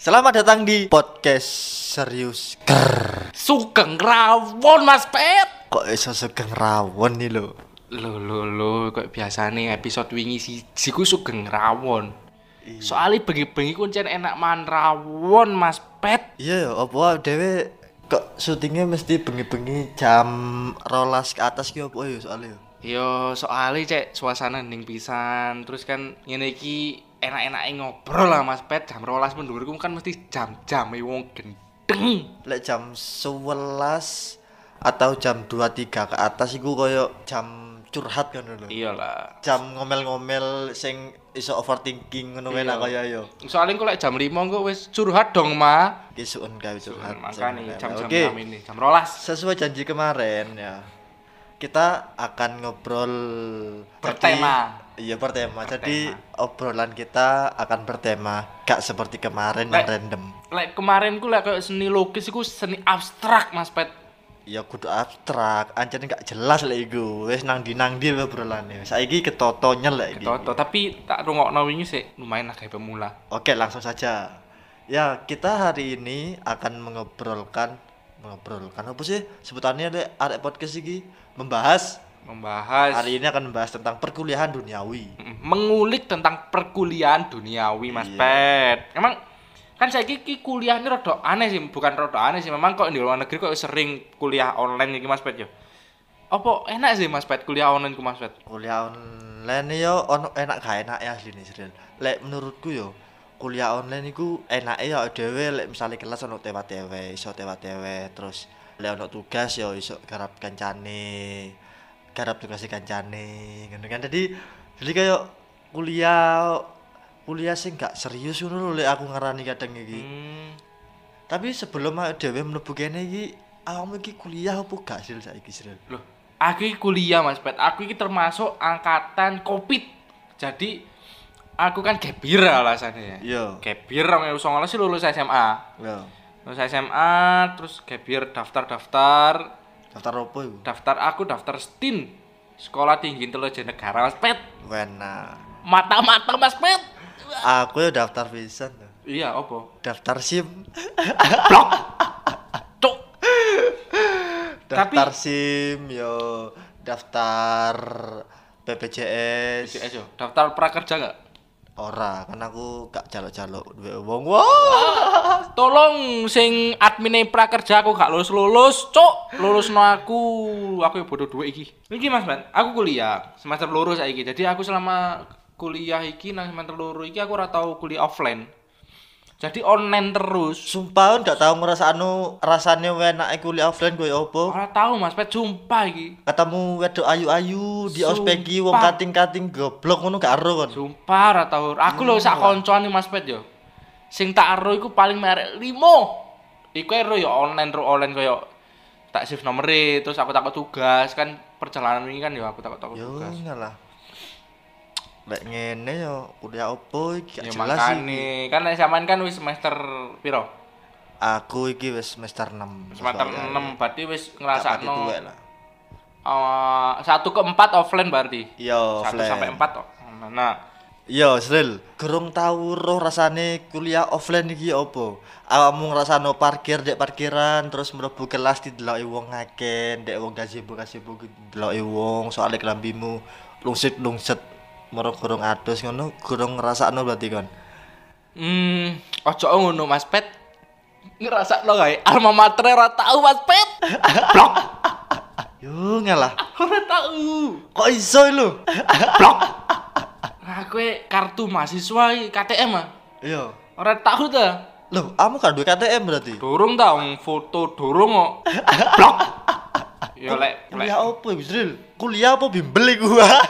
Selamat datang di podcast serius. Sugeng rawon Mas Pet. Kok iso sugeng rawon nih lo? Lho, kok biasane episode wingi siku sugeng rawon. Soalnya bengi-bengi kuncen enak man rawon Mas Pet. Iya ya, apa dhewe kok syutingnya mesti bengi-bengi jam 12 ke atas ki opo ya soalnya ya? Yo soalnya cek suasana ning pisan. Terus kan ngene iki enak-enake ngobrol lah Mas Pet. Jam 12 mendhuwurku kan mesti jam-jame wong gendeng. Lek jam 11 atau jam 2-3 ke atas iku koyo jam curhat kan lho. Iyalah. Jam ngomel-ngomel sing iso overthinking ngono Iya. enak kaya yo. Soalnya kok lek jam 5 kok wis curhat dong, Ma. Kisuun gawe curhat. Makanya jam-jam Oke. ini, jam 12. Sesuai janji kemarin ya. Kita akan ngobrol Bertema. Iya bertema. Jadi obrolan kita akan bertema gak seperti kemarin yang random. Lek kemarin ku lek kayak seni lukis iku seni abstrak Mas Pet. Ya kudu abstrak, ancen gak jelas lek iku. Wis nang ndi obrolane. Saiki ketotonya lek iki. Toto, tapi tak rungokno wingi sih lumayan agak pemula. Oke, langsung saja. Ya, kita hari ini akan mengobrolkan apa sih sebutannya lek arek podcast iki membahas hari ini akan membahas tentang perkuliahan duniawi. Mengulik tentang perkuliahan duniawi Mas Iya. Pet. Emang kan saiki iki kuliah ini rada aneh sih, bukan rada aneh sih, memang kok di luar negeri kok sering kuliah online iki Mas Pet yo. Apa enak sih Mas Pet kuliah online ku Mas Pet? Kuliah online yo ono enak gak enak ya asline Sril. Lek menurutku yo kuliah online iku enake ya dhewe lek misale kelas ono tewa-tewe, iso tewa-tewe terus lek ono tugas yo iso garap kancane, garap tugas kancane ngono kan. Jadi kayak kuliah sing gak serius ngono lho lek aku ngarani kadang iki. Tapi sebelum dhewe mlebu kene iki awakmu iki kuliah apa gak Sril saiki Sril? Loh, aku iki kuliah Mas Pet. Aku iki termasuk angkatan Covid. Jadi aku kan gap year alasannya ya. Iya. Gap year 2019 sih lulus SMA. Iya. Lulus SMA terus gap year daftar. Daftar opo iku? Daftar STIN. Sekolah Tinggi Intelijen Negara Mas Pet. Wena. Mata-mata Mas Pet. Aku ya daftar pisan tuh. Iya, opo? Daftar SIM. Blok. Cuk. Daftar SIM yo, daftar BPJS. BPJS yo. Daftar prakerja enggak? Ora, kan aku gak jaluk-jaluk duwe wong. Wah. Tolong sing admine prakerja aku gak lulus, cuk. Lulusno aku yo bodo duit iki. Iki Mas Man, aku kuliah semester loro saiki. Jadi aku selama kuliah iki nang semester loro iki aku ora tau kuliah offline. Jadi online terus. Sumpah ndak tahu ngrasakno rasane enake kuliah offline koyo apa. Ora tau Mas, Pet sumpah iki. Ketemu wedok ayu-ayu di Sumpah. ospek iki wong kating-kating goblok ngono gak ero kon. Sumpah ora tau. Aku lho sak koncone Mas Pet yo. Sing tak ero iku paling merek 5. Iku ero yo online koyo tak save nomere terus aku takut tugas kan perjalanan ini kan yo aku takut Yo tugas. ngalah. Lek ngene yo kuliah opo iki gak Ya jelas iki. makane kan nek sampean kan wis semester piro? Aku iki wis semester 6. Semester 6 berarti wis Pati ngrasakno tuwek lah. 1 ke 4 offline berarti. Iya, 1 offline. sampai 4 kok. Nah, Iya, Sril. Gerung tau roh rasane kuliah offline iki opo? Awakmu ngrasano parkir dek parkiran terus mlebu kelas dideloki wong akeh, ndek wong gazebo dideloki wong soalnya kelambimu lungsit mergo gerung adus ngono, gerung ngrasakno berarti kon. ojo ngono Mas Pet. Ngrasakno kae alma mater ora tau Mas Pet. Blok. Yo ngalah. Ora tau. Kok iso lho? Blok. Nah, kowe kartu mahasiswa iki KTM ah. Iya. Ora tau ta? Loh, kamu kan duwe KTM berarti? Durung ta wong foto durung kok. Blok. Ya lek Kuliah opo iku, Sril? Kuliah apa bimbel iku?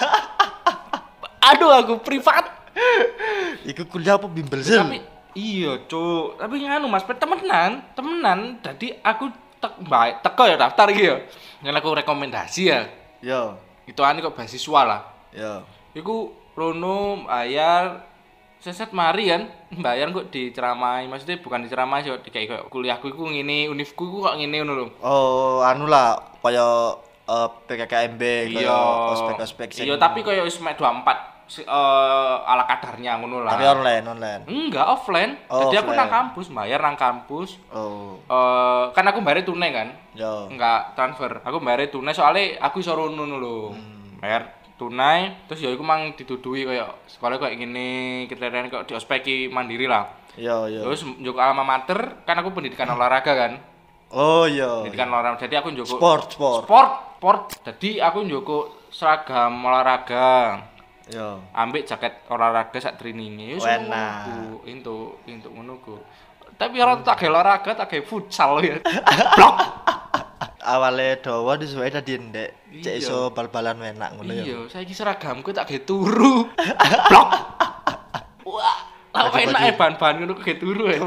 aduh aku privat. Iku kuliah apa bimbel, Sril? Tapi iya, Cuk. Tapi nganu Mas Pet temenan. Dadi aku teko ya daftar iki ya. Yang aku rekomendasi ya. Yo. Ituane kok beasiswa lah. Yo. Iku rono bayar seset mari kan bayar kok diceramai, maksudnya bukan diceramai sih kayak kuliahku iku ngene, univku iku kok ngene ngono lho. Oh, anu lah kaya PKKMB Iya. kaya ospek-ospek sing. Iya, tapi kaya wis mek 24 ala kadarnya ngono lah. Tapi online. Enggak, offline. Oh, Jadi aku offline. nang kampus, bayar nang kampus. Oh. Kan aku bayar tunai kan. Yo. Enggak transfer. Aku bayar tunai soalnya aku iso rono lho. Bayar tunai terus ya iku mang dituduhi koyo sekolah koyo ngene, kriteria kok di ospeki mandiri lah. Yo. Terus njuk alma mater, kan aku pendidikan olahraga kan. Oh iya. Pendidikan olahraga. Jadi aku njuk Sport. Jadi aku njuk seragam olahraga. Yo. Ambek jaket olahraga sak traininge. Enak. Untuk ngono ku. Tapi ora tak gawe olahraga, tak gawe futsal ya. Blok. Awale dawa disuwe dadi ndek. Cek Iya. iso bal-balan enak ngono ya. Iya, saiki seragamku tak gawe turu. Blok. Wah, apa Baju-baju. enak ya bahan-bahan ngono gawe turu ya.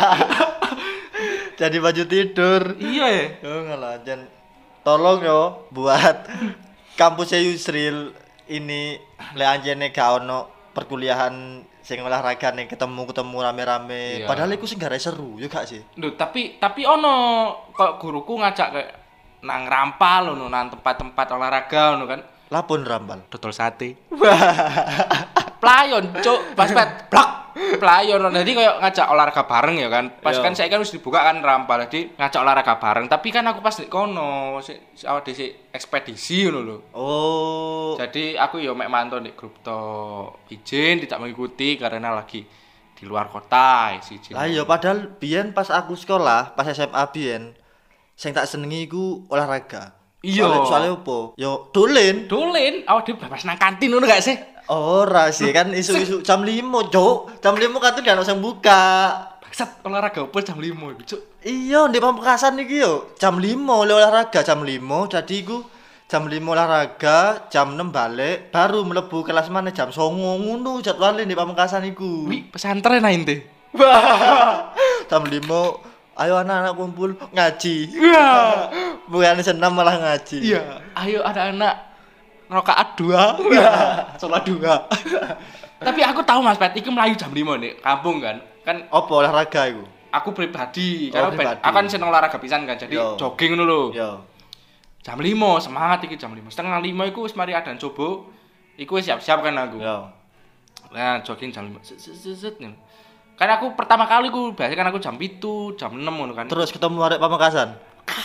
Jadi baju tidur. Iya ya. Yo ngelajan. Tolong yo buat kampusnya Yusril ini le anjene gak ono perkuliahan sing olahraga nih ketemu rame-rame. Iya. Padahal iku sing gak seru yo gak sih? Duh, tapi ono kok guruku ngajak kayak nang rampal ngono nang tempat-tempat olahraga ngono kan. Lapun rambal. Dodol sate. Playon, cuk, pas blok. Playon. Jadi kayak ngajak olahraga bareng ya kan. Pas Iya. kan saya kan wis dibuka kan rampal. Jadi ngajak olahraga bareng, tapi kan aku pas di kono awak dhisik ekspedisi ngono lho. Oh. Jadi aku ya mek mantau di grup to izin tidak mengikuti karena lagi di luar kota siji. Lah iya padahal biyen pas aku sekolah, pas SMA biyen sing tak senengi iku olahraga. Iya. Soalnya opo? Yo dolen. Dolen, awak dhewe bebas nang kantin ngono gak sih? Ora sih kan isu-isu jam 5, Cuk. Jam 5 kan tuh gak usah buka. Bangsat olahraga opo jam 5 iku, cuk. Iya, di Pamekasan iki yo jam 5 oleh olahraga jam 5. Jadi iku jam 5 olahraga, jam 6 balik, baru mlebu kelas mana jam 09.00 ngono jadwale di Pamekasan iku. Wi, pesantren ae ente. Jam 5 ayo anak-anak kumpul ngaji. Iya. Bukan senam malah ngaji. Iya, ayo anak-anak rakaat 2. Salat 2. Tapi aku tahu Mas Pet, iki mlayu jam 5 nih, kampung kan. Kan Apa olahraga iku? aku pribadi, Oh, karena pribadi. aku kan seneng olahraga pisan kan. Jadi Yo. jogging ngono lho. Yo. Jam 5 semangat iki jam 5. Setengah 5 iku wis mari adan coba. Iku wis siap-siap kan aku. Yo. Nah, jogging jam 5. Set. Kan aku pertama kali ku biasa kan aku jam 7, jam 6 ngono kan. Terus ketemu arek Pamekasan.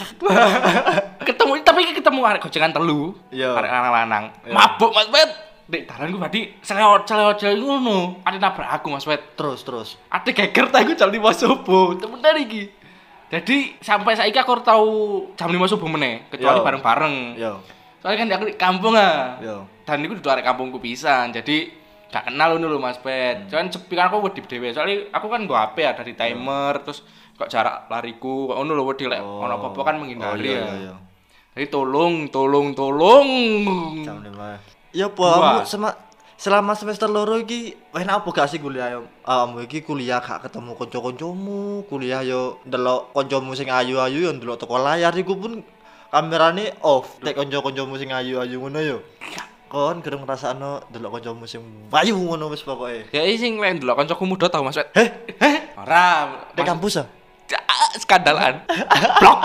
Ketemu arek gocengan telu. Iya. Arek lanang-lanang. Iya. Mabuk Mas Pet. Dek dalan ku berarti selewat ngono. Ade nabrak aku Mas Pet. Terus. Ade geger ta aku jam 5 subuh. Temenan iki. Jadi sampai saiki aku ora tau jam 5 subuh meneh, kecuali Yo. bareng-bareng. Yo. Soalnya kan aku di kampung ah. Yo. Dan iku dudu arek kampungku pisan. Jadi gak kenal ngono lho Mas Pet. Cuman sepi kan aku wedi dhewe. Soalnya aku kan nggo HP ya dari timer terus kok jarak lariku kok ngono lho wedi lek ono apa-apa kan menghindari ya. Iya. Jadi tolong. Jam 5. Ya apa Dua. kamu selama semester loro iki enak apa gak sih kuliah yo? Kamu iki kuliah gak ketemu kanca-kancamu, kuliah yo ndelok kancamu sing ayu-ayu yo ndelok teko layar iku pun kamerane off. Tek kanca-kancamu sing ayu-ayu ngono yo. Kon gerung ngrasakno ndelok kancamu sing ayu ngono wis pokoke. Ya sing lek ndelok kancaku muda tau Mas Pet. Heh, Ora. di kampus ah? Skandalan. Blok.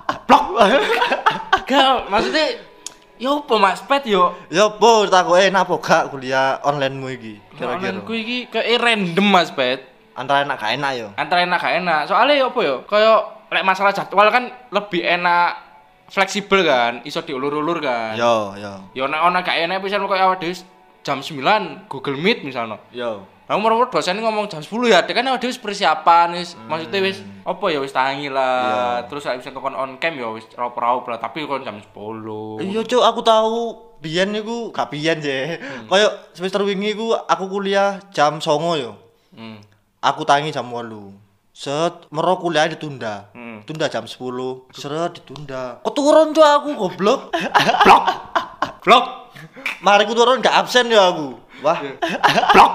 Gak, maksudnya yo apa Mas Pet yo? Ya apa takoke enak apa gak kuliah onlinemu iki? Kira-kira. Ku iki kayak random Mas Pet. Antara enak gak enak yo. Antara enak gak enak. Soalnya yo apa yo? Kayak lek masalah jadwal kan lebih enak fleksibel kan, iso diulur-ulur kan. Yo. Ya ana gak enak pisan kok awake dhewe jam 9 Google Meet misalnya. Yo. Lah umur dosen ngomong jam 10 ya, dia kan awake dhewe wis persiapan wis maksudnya wis apa ya wis tangi lah. Terus lek bisa kon on cam ya wis raup-raup lah, tapi kon jam 10. Iya cuk, aku tahu biyen niku gak biyen sih. Kayak semester wingi iku aku kuliah jam 09.00 yo. Hmm. Aku tangi jam 8. Set, mero kuliah ditunda. Hmm. Tunda jam 10. Seret ditunda. Keturun cuk aku goblok. Blok. Mari ku turun gak absen yo aku. Wah, Blok.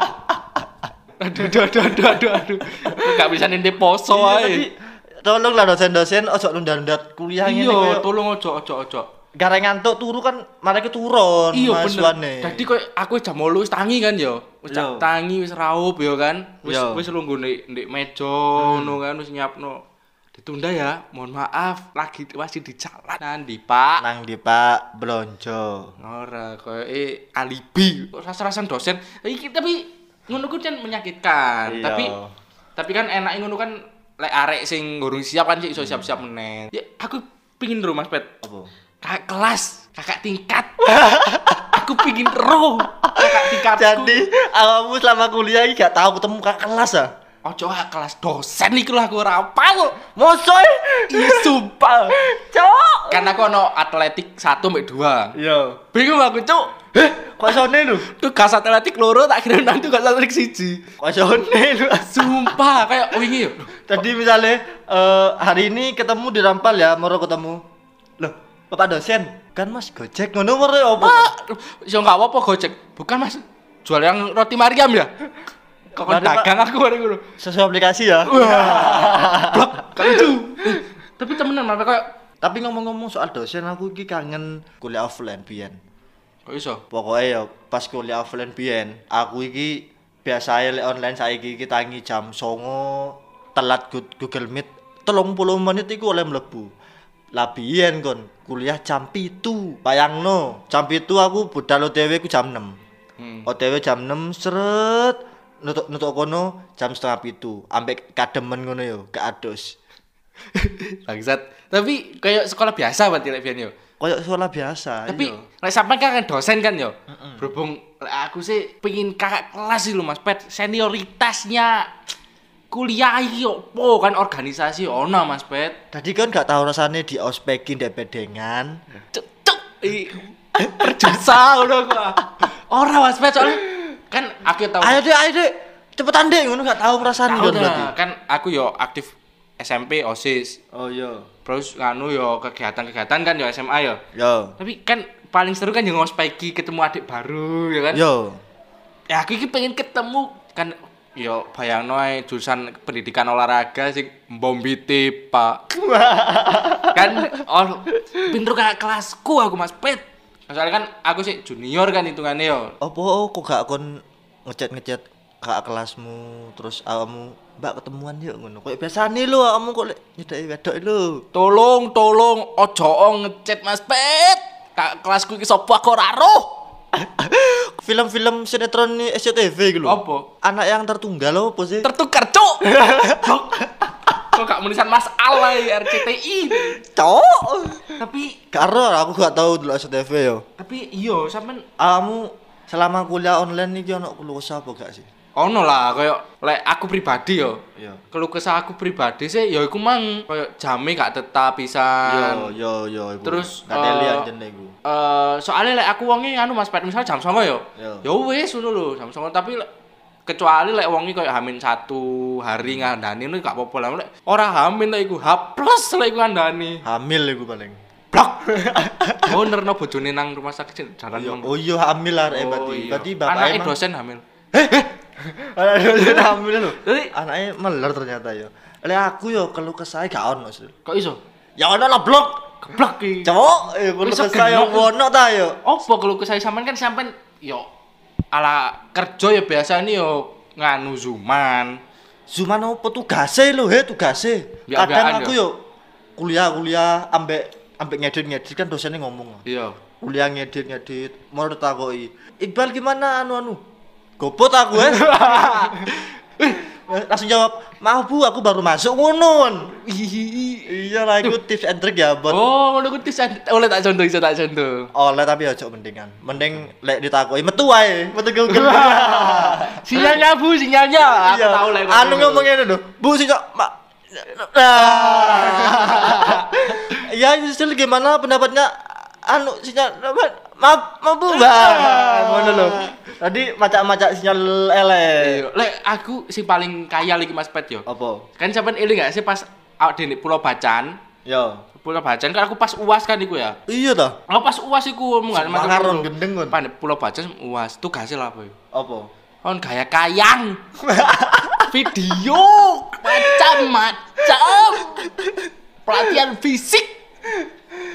Aduh. Gak bisa nintip poso iya, ae. tapi tolonglah dosen-dosen ojo nunda-nunda kuliah ngene Iya, koyo. tolong ojo. Gara ngantuk turu kan mari turun Iya mahasiswane. bener. Jadi koyo aku jam 8 wis tangi kan ya. Wis Iya. tangi wis raup ya kan. Iya. Wis lungguh ndek meja ngono kan wis nyiapno. ditunda ya. Mohon maaf, lagi masih di jalan. Nanti, Pak. Nang di Pak Blonjo. Ora koyo alibi. Rasa-rasan dosen. Tapi ngono ku kan menyakitkan. Iya. Tapi kan enak ngono kan lek arek sing ngurung siap kan sih iso siap-siap meneh. Ya aku pingin ro Mas Pet. Apa? Kakak kelas, kakak tingkat. Aku pingin ro kakak tingkatku. Jadi awakmu selama kuliah iki gak tahu ketemu kakak kelas ah? Ojo kakak kelas dosen iku lah aku ora apal. Mosok Iya sumpah. Cok. Kan aku ono atletik 1 sampai 2. Iya. Bingung aku, Cuk. Kok isone lu? Tugas atletik loro tak kira nang tugas atletik 1. Kok isone lu? Sumpah kayak wingi yo. Tadi misalnya hari ini ketemu di Rampal ya, mau ketemu. Loh, Bapak dosen, kan Mas Gojek ngono moro opo? Yo enggak apa-apa Gojek. Bukan Mas, jual yang roti Mariam ya? Kok Mari, Pak. dagang aku bareng ngono. Sesuai aplikasi ya. Blok, kan itu. Tapi temenan apa kayak Tapi ngomong-ngomong soal dosen, aku iki kangen kuliah offline biyen. kok iso? Pokoknya ya pas kuliah offline biyen, aku iki biasae lek online saiki iki tangi jam 09.00 telat Google Meet 30 menit iku oleh mlebu. Lah biyen kon kuliah jam 7. Bayangno, jam 7 aku budal OTW ku jam 6. OTW jam 6 seret nutuk kono jam 6:30 ambek kademen ngono yo, gak adus. Bangsat. Tapi kayak sekolah biasa berarti lek biyen yo. Kayak sekolah biasa. Tapi iya. lek sampean kan dosen kan yo. Berhubung lek aku sih pengen kakak kelas sih lho Mas Pet. Senioritasnya kuliah iki opo kan organisasi ono Mas Pet. Tadi kan gak tahu rasanya di ospekin dek bedengan. Cuk. Perjasa ngono aku. Ora Mas Pet soalnya kan aku tahu. Ayo dek, cepetan dek ngono gak tahu rasanya Tahu kan berarti. dah, kan aku yo aktif SMP OSIS. Oh iya. Terus nganu yo kegiatan-kegiatan kan yo SMA yo. Yo. Tapi kan paling seru kan yo ngospeki ketemu adik baru ya kan. Yo. Ya aku iki pengen ketemu kan yo bayangno ae jurusan pendidikan olahraga sing mbombiti, Pak. Kan pinter kakak kelasku aku Mas Pet. Soalnya kan aku sih junior kan hitungannya yo. Apa kok gak kon ngechat kakak kelasmu terus awakmu Mbak ketemuan yuk ngono. Kayak biasane lho awakmu kok lek nyedaki wedok lho. Tolong ojo ngechat Mas Pet. Kakak kelasku iki sapa aku ora roh. Film-film sinetron nih SCTV gitu lho. Apa? Anak yang tertunggal apa sih? Tertukar, Cuk. Kok gak menulisan Mas Al RCTI. Cok. Tapi Karo aku gak tahu dulu SCTV yo. iyo sampean Awakmu selama kuliah online iki ono keluh kesah apa gak sih? ono lah kayak lek aku pribadi yo. Iya. Keluh kesah aku pribadi sih ya iku mang kayak jame gak tetap pisan. Yo iku. Terus, katelian jene iku. Soalnya lek aku wonge anu Mas Pet misal jam 09.00 yo. Yo. Ya wis ngono lho jam 09.00 tapi kecuali lek wonge koyo hamin 1 hari ngandani itu gak apa-apa lah lek ora hamin lek iku H+ lek iku ngandani. Hamil iku paling. Blok. Oh nerno bojone nang rumah sakit jalan. Oh iya hamil lah berarti. Berarti bapaknya anaknya emang dosen hamil. Anak dosen hamil lho. Jadi Anaknya meler ternyata yo. Lek aku yo keluh kesah gak ono sih. kok iso? Ya ono lah blok. Geblok iki. Cowok, keluh Iso kesah yo genok. ono ta yo. Opo kalau kesah sampean kan sampean yo ala kerja ya biasa nih yo nganu zuman. Zuman opo tugase lho tugase. Biak-biakan Kadang aku yo. yo kuliah ambek ngedit kan dosennya ngomong. Iya. Kuliah ngedit mau ditakoki. Iqbal gimana anu? Gopot aku langsung jawab, "Maaf Bu, aku baru masuk ngono." Iya lah itu tips and trick ya buat Oh, ngono ku oleh tak contoh iso tak contoh. oleh tapi ojo mendingan. Mending lek ditakoki metu wae, metu Google. Sinyalnya Bu, sinyalnya. Aku Iya. tahu lek. Anu ngomong ngene lho, Bu sinyal Ya, justru gimana pendapatnya anu sinyal maaf Bu, Mbak. Ngono lho. Tadi macak-macak sinyal elek. Iya. Lek aku sing paling kaya iki Mas Pet yo. Apa? Kan sampean eling gak sih pas awak dene Pulau Bacan? Yo. Pulau Bacan kan aku pas UAS kan iku ya. Iya ta? Aku pas UAS iku omongan Makaron gendeng kon. Pan Pulau Bacan UAS tugasnya lah apa ya? Apa? Kon gaya kayang. Video macam-macam. Pelatihan fisik.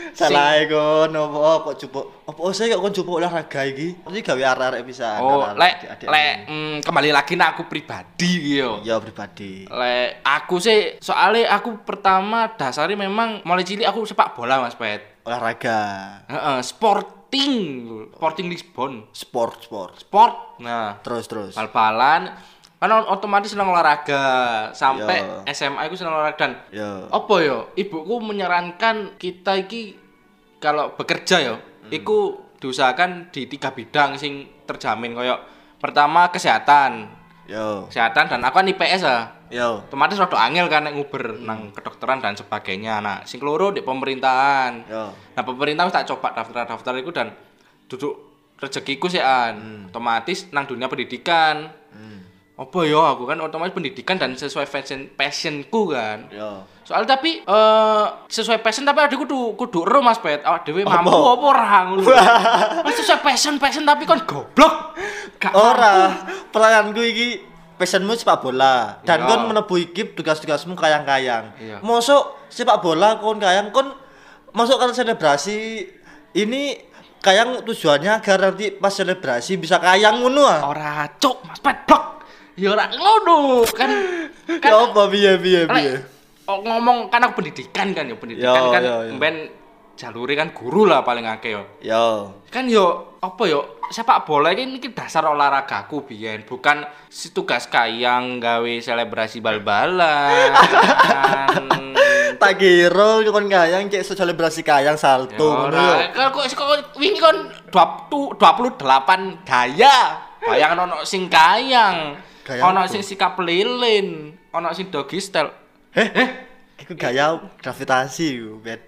Salah kon opo kok jupuk. Opo saya kok kon jupuk olahraga iki? Iki gawe arek-arek pisan. Oh, arek-arek, lek adik-adik. kembali lagi nak aku pribadi iki yo. Ya pribadi. Lek aku sih soalnya aku pertama dasarnya memang mulai cilik aku sepak bola Mas Pet. Olahraga. Heeh, Sporting Lisbon. Sport. Sport. Nah, Terus. bal-balan kan otomatis seneng olahraga sampai Yo. SMA aku seneng olahraga dan Yo. apa yo ibuku menyarankan kita iki kalau bekerja yo iku diusahakan di 3 bidang sing terjamin koyo pertama kesehatan dan aku kan IPS Yo. otomatis rada angel kan nek nguber nang kedokteran dan sebagainya. Nah, sing keloro di pemerintahan. Yo. Nah, pemerintah wis tak coba daftar itu dan duduk rezekiku sih otomatis nang dunia pendidikan. Apa ya aku kan otomatis pendidikan dan sesuai passionku kan. Yo. Soal tapi sesuai passion tapi ada kudu ero Mas Pet. Awak dhewe mampu apa ora ngono. Sesuai passion tapi kon goblok. Gak Ora, pertanyaanku iki passionmu sepak bola dan Iya. kon menebu iki tugas-tugasmu kayang-kayang. Iya. Mosok sepak bola kon kayang kon masuk kan selebrasi ini kayang tujuannya agar nanti pas selebrasi bisa kayang ngono ah. ora cuk Mas Pet blok. Ya ora ngono kan. Ya apa piye. Lek, ngomong kan aku pendidikan kan ya pendidikan Yo, kan yo. mben jalure kan guru lah paling akeh yo. Yo. Kan yo apa yo sepak bola ini dasar olahragaku biyen bukan si tugas kayang gawe selebrasi bal-balan. Kan. Tak kira kon kayang cek selebrasi kayang salto ngono yo. Ora, kok wingi kon 28 daya. Bayangno ono sing kayang, Kayang ono apa? sing sikap lilin, ono sing doggy style. Iku gaya gravitasi iku beda.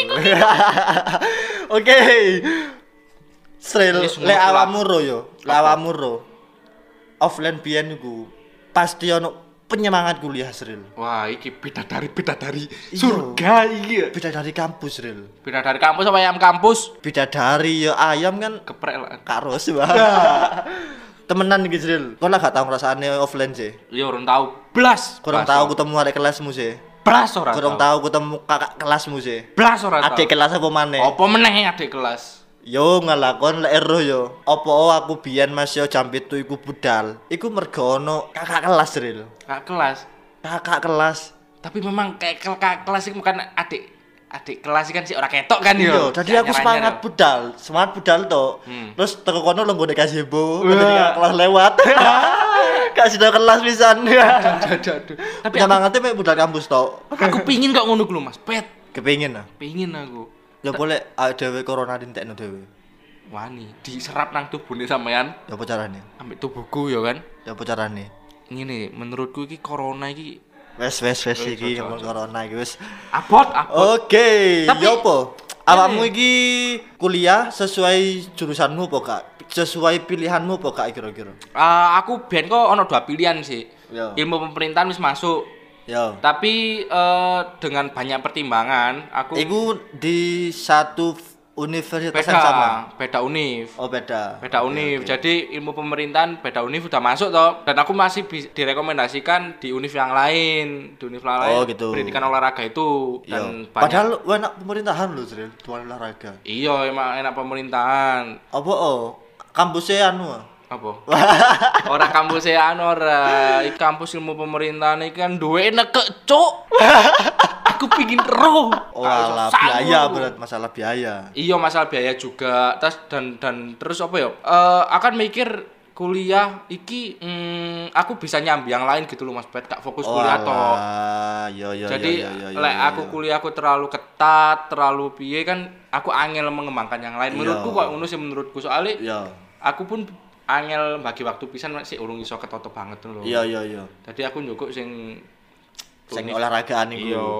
Oke. Sril, Wis lek ngono lah. awakmu ro yo, lek awakmu ro. Offline biyen iku pasti ono penyemangat kuliah Sril. Wah, iki bidadari Iya. surga iki. Beda dari kampus Sril. Bidadari kampus apa ayam kampus? Beda dari ya ayam kan Keprek lah. karos Bang. Temenan iki Sril. Kok lah gak tau ngrasane offline sih. Ya urung tau blas. Kurang tahu ketemu adik kelasmu sih. Blas ora. Kurang tahu ketemu kakak kelasmu sih. Blas ora. Adik kelas apa maneh? Apa meneh adik kelas? Yo ngelakon lek ero yo. Apa aku biyen Mas yo jam 7 iku budal. Iku mergo ono kakak kelas Ril. Kak kelas. Kakak kelas. Tapi memang kayak kakak kelas itu bukan adik kelas kan sih ora ketok kan yo. Yo, jadi aku semangat budal to. Terus teko kono lho nggone gazebo, ketika kelas lewat. Kasih do kelas pisan. Aduh. Tapi Semangatnya mek budal kampus to. aku pingin kok ngono ku lho Mas. Pet. Kepengin ah. Pingin aku. Ya boleh dhewe corona dintekno dhewe. Wani diserap nang tubuhne sampean Ya apa carane? ambek tubuhku ya kan. Ya apa carane? Ngene menurutku iki corona iki Wes iki ngomong corona iki wis. abot. Oke, Tapi- ya apa? Awakmu iki kuliah sesuai jurusanmu apa gak? Sesuai pilihanmu apa gak kira-kira? Aku ben kok ono 2 pilihan sih. Ya. Ilmu pemerintahan wis masuk. Ya. Tapi dengan banyak pertimbangan aku Iku di satu universitas yang sama. beda univ. Oh, beda. Beda univ. Jadi ilmu pemerintahan beda univ udah masuk toh. Dan aku masih direkomendasikan di univ yang lain, Oh, gitu. pendidikan olahraga itu Iya. dan Padahal enak pemerintahan lho, Sril, tuan olahraga. iya emang enak pemerintahan. Apa kampusnya anu? Apa? Ora kampus ora, iki kampus ilmu pemerintahan iki kan duwe nekek, Cuk. Aku pingin roh. Oh, alah biaya berat masalah biaya. Iya masalah biaya juga. Dan terus apa ya? Akan mikir kuliah iki aku bisa nyambi yang lain gitu loh Mas Bet, gak fokus kuliah toh. Yo. Jadi lek aku kuliah aku terlalu ketat, terlalu piye kan aku angel mengembangkan yang lain. Menurutku kok ngono sih menurutku soalnya Iya. aku pun angel bagi waktu pisan masih urung iso ketoto banget lho. Iya. Jadi aku njukuk sing Olahragaan iku. iya.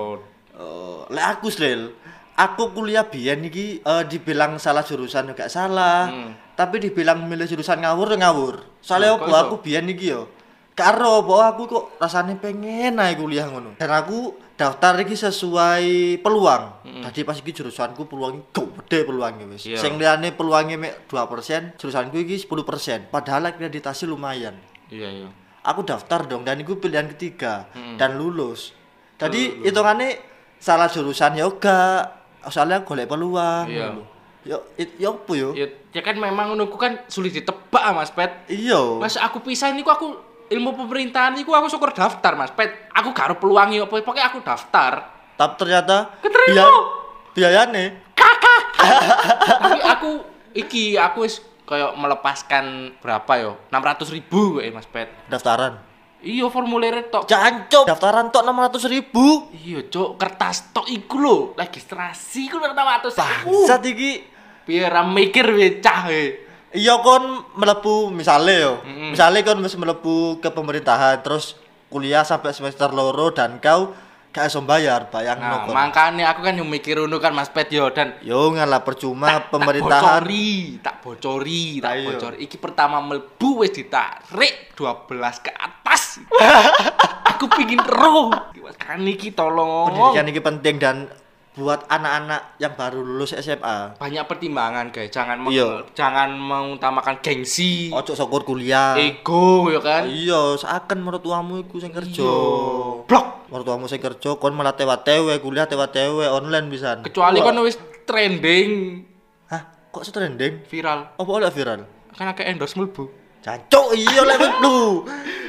Lek aku Sril, aku kuliah biyen iki dibilang salah jurusan juga salah. Tapi dibilang milih jurusan ngawur ya ngawur. Soalnya Kok apa iso? aku biyen iki yo. Karo apa aku kok rasane pengen ae kuliah ngono. Dan aku daftar iki sesuai peluang. Tadi pas iki jurusanku peluangnya gede peluangnya wis. Iya. Sing liyane peluangnya mek 2%, jurusanku iki 10%. Padahal akreditasi lumayan. Iya. Aku daftar dong dan itu pilihan ketiga dan lulus. Jadi hitungannya salah jurusan ya enggak, soalnya golek peluang. Iya. ngono. Yo opo yo? Ya kan memang ngono ku kan sulit ditebak Mas Pet. Iya. Pas aku pisah niku aku ilmu pemerintahan niku aku syukur daftar Mas Pet. Aku gak aro peluang yo pokoknya aku daftar. Tapi ternyata Keterima. biayane Tapi aku wis kayak melepaskan berapa yo? 600.000 kok Mas Pet. daftaran. Iya formulirnya tok. Jancuk, daftaran tok 600.000. Iya, Cuk, kertas tok iku lho, registrasi ku 600.000. Bangsat iki. Piye ra mikir we cah we. Iya kon mlebu misale yo. Misale kon wis mlebu ke pemerintahan terus kuliah sampai semester loro dan kau gak iso bayar, bayangno Nah, kon. makane aku kan yo mikir ngono kan Mas Pet yo dan Yo ngalah percuma pemerintahan. tak bocori. Ayo. Iki pertama mlebu wis ditarik 12 ke atas. Aku pingin roh. Kan iki tolong. Pendidikan ini penting dan buat anak-anak yang baru lulus SMA. Banyak pertimbangan guys, Iya. jangan mengutamakan gengsi, Ojo syukur kuliah. ego ya kan. Iya, seakan mertuamu iku sing kerja. Blok. Mertuamu sing kerja kon malah tewa-tewe kuliah tewa-tewe online pisan. Kecuali Wah. kan wis trending Hah, kok trending? viral. Apa oleh viral? Kan akeh endorse mlebu. Jancuk iya lek mlebu.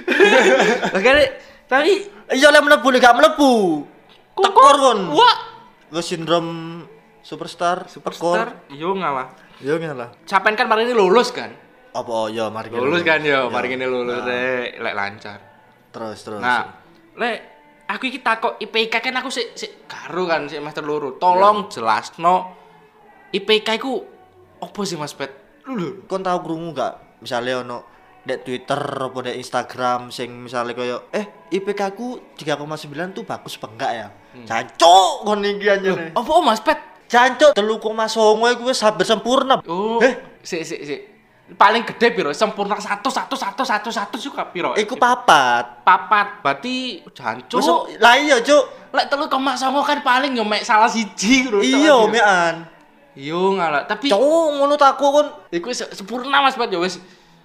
Makanya tapi Iya lek mlebu lek gak mlebu. Tekor kon. Wah, Wis sindrom superstar. superstar yo ngalah. Yo ngalah. Sampean kan mari ini lulus kan? Apa ya mari kita Lulus kan yo, Ya. mari ini lulus Nah, lek lancar. Terus. Nah, lek aku iki takok IPK kan aku sik karo kan sik semester loro. Tolong jelasno IPK iku opo sih Mas Pet? Lho. kon tau krungu gak misale ono dek Twitter apa dek Instagram sing misale koyo IPK ku 3,9 tuh bagus apa enggak ya? Jancuk kon iki anjene. Opo Mas Pet? Jancuk 3,9 iku wis hampir sempurna. Oh, sik. Paling gede piro? Sempurna 1 suka piro? Iku papat. Papat. Berarti jancuk. Wis lah iya, Cuk. Lek 3,9 kan paling yo mek salah siji lho. Iya, mekan. Yo ngalah, tapi Cuk ngono takku kon. iku sempurna Mas Pat yo wis.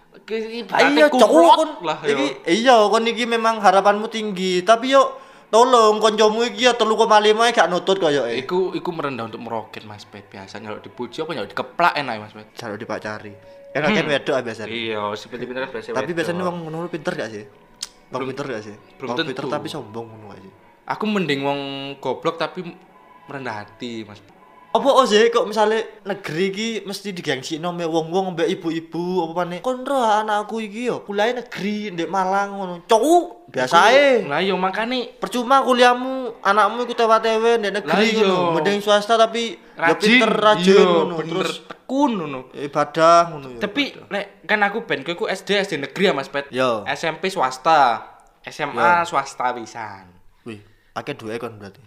Iya, Cuk kon. lah yo. Iki iya kon iki memang harapanmu tinggi, tapi yo tolong koncomu iki ya 3,5 ae gak nutut koyo Iku merendah untuk meroket Mas Pet. Biasa nyaluk dipuji apa nyaluk dikeplak enak Mas Pet. jalur dipacari. Enak kan wedok biasanya. Iya, seperti pinter biasa. Tapi biasanya wong ngono pinter gak sih? Wong pinter gak sih? belum Wong pinter tentu. tapi sombong ngono gak sih? Aku mending wong goblok tapi merendah hati Mas Pet. Apa sih kok misalnya negeri iki mesti digengsikno mek wong-wong mbek ibu-ibu apa maneh. Kon ro anakku iki yo kuliah negeri ndek Malang ngono. Cuk, biasa ae. Lah yo makane Percuma kuliahmu, anakmu iku tewa-tewe ndek negeri Lah iya. ngono. Mending swasta tapi yo rajin, pinter rajin iya, ngono. bener, Terus tekun ngono. ibadah ngono yo. Tapi lek kan aku ben ku SD negeri ya Mas Pet. Yo. SMP swasta, SMA Yo. swasta pisan. Wih, akeh duwe kon berarti.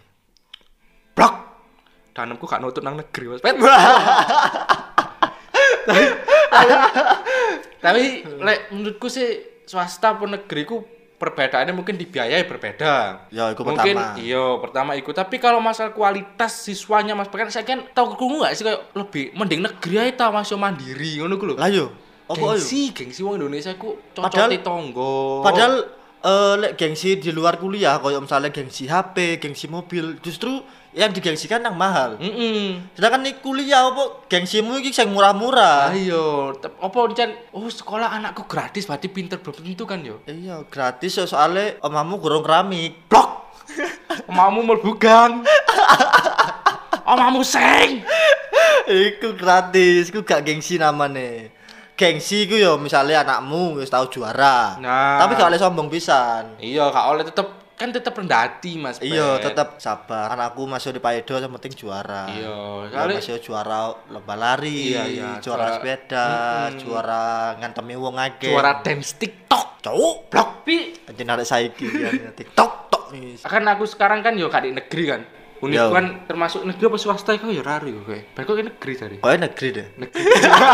Blok. Tanamku gak nutut nang negeri Mas Pet. Tapi lek menurutku sih swasta pun negeri ku perbedaannya mungkin di biaya berbeda. Ya, itu mungkin pertama. iya pertama itu. Tapi kalau masalah kualitas siswanya Mas Pet kan saya kan tahu krungu gak sih kayak lebih mending negeri ae ta Mas yo mandiri ngono ku lho. Lah yo, apa yo? Gengsi wong Indonesia ku Padahal- cocote tonggo. Padahal lek gengsi di luar kuliah koyo misalnya gengsi HP, gengsi mobil, justru yang digengsikan yang mahal. Sedangkan nih kuliah apa gengsimu iki sing murah-murah. Ayo, apa encen sekolah anakku gratis berarti pinter belum tentu kan yo. Iya, gratis yo soalnya omamu gorong keramik. Blok. Omamu mlebu gang. Omamu sing. Iku gratis, iku gak gengsi namanya. Gengsi iku yo misalnya anakmu wis tau juara. Nah. Tapi gak oleh sombong pisan. Iya, gak oleh tetep rendah hati Mas. Iya, Pet. tetap sabar. Anakku masih di Paedo yang penting juara. Iya, Ya, soalnya- masih juara lomba lari, Iya, juara juara- sepeda, juara ngantemi wong akeh. Juara dance TikTok. Cuk, Blok pi. anjir narik saiki ya TikTok tok nih. Kan aku sekarang kan yo gak di negeri kan. Univ Yo. kan termasuk negeri apa swasta iku ya raru yo kowe. Ben kok ke negeri tadi. Koe negeri deh. Negeri.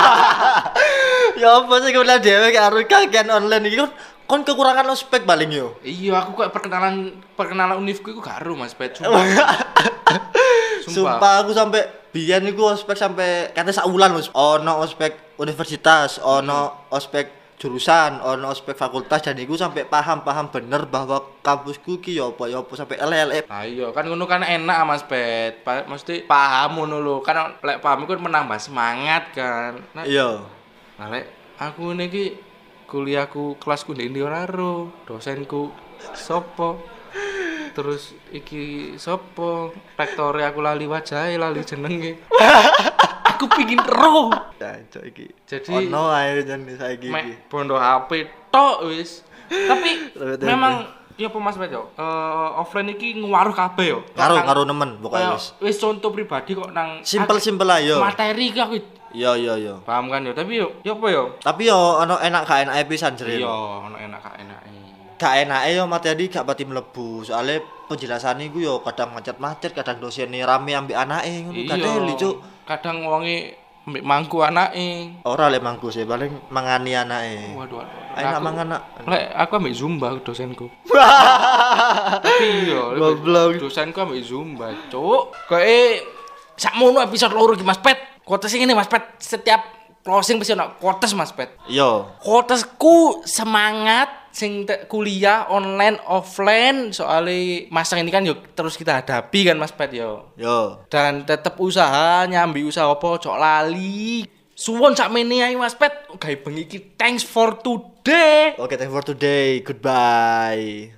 Ya apa sih kuliah dhewe karo kagian online iki kon kekurangan ospek paling yo. Iya, aku kok perkenalan univku iku gak ero Mas Pet. Sumpah. Sumpah aku sampai biyen iku ospek sampai kate sak wulan wis ono ospek universitas, ono ospek jurusan, ono ospek fakultas dan iku sampai paham bener bahwa kampusku ki yo apa sampai LLM. Nah iya kan ngono kan enak Mas Pet. Mesti paham ngono lho. Kan lek paham iku menambah semangat kan. Nah, Iya. nah lek aku niki kuliahku kelasku ndi ora ro. Dosenku sopo? Terus iki sopo? Rektore aku lali wajahe, lali jenenge. Aku pingin ro. Cacok iki. Jadi ono ae jan saiki iki. mek bondo HP tok wis. Tapi Rewet memang ya apa Mas Pet yo? Offline iki ngaruh kabeh yo. Karo nemen Kayak pokoknya wis. wis contoh pribadi kok nang Simpel ayo. materi ki aku Iya. paham kan yo, tapi yo apa yo? Tapi yo ono enak gak enake pisan jere. Iya, ono enak gak enake. Gak enake yo materi gak pati mlebu. Soale penjelasane iku yo kadang macet-macet, kadang dosene rame ambek anake ngono. Iya. Kadang Cuk. Kadang wonge mbek mangku anake. Ora lek mangku sih, paling mangani anake. Waduh. Enak mangan nak. Lek aku ambek Zumba dosenku. Tapi yo Goblok. dosenku ambek Zumba, Cuk. Kayak sakmono episode loro iki Mas Pet. Quotes ini Mas Pet, setiap closing pasti ono quotes Mas Pet. Yo. Quotesku semangat sing kuliah online offline soalnya masa ini kan yuk terus kita hadapi kan Mas Pet yo. Yo. Dan tetap usaha nyambi usaha apa cok lali. Suwon sakmene ae Mas Pet. Gawe bengi iki thanks for today. Okay, thank you for today. Goodbye.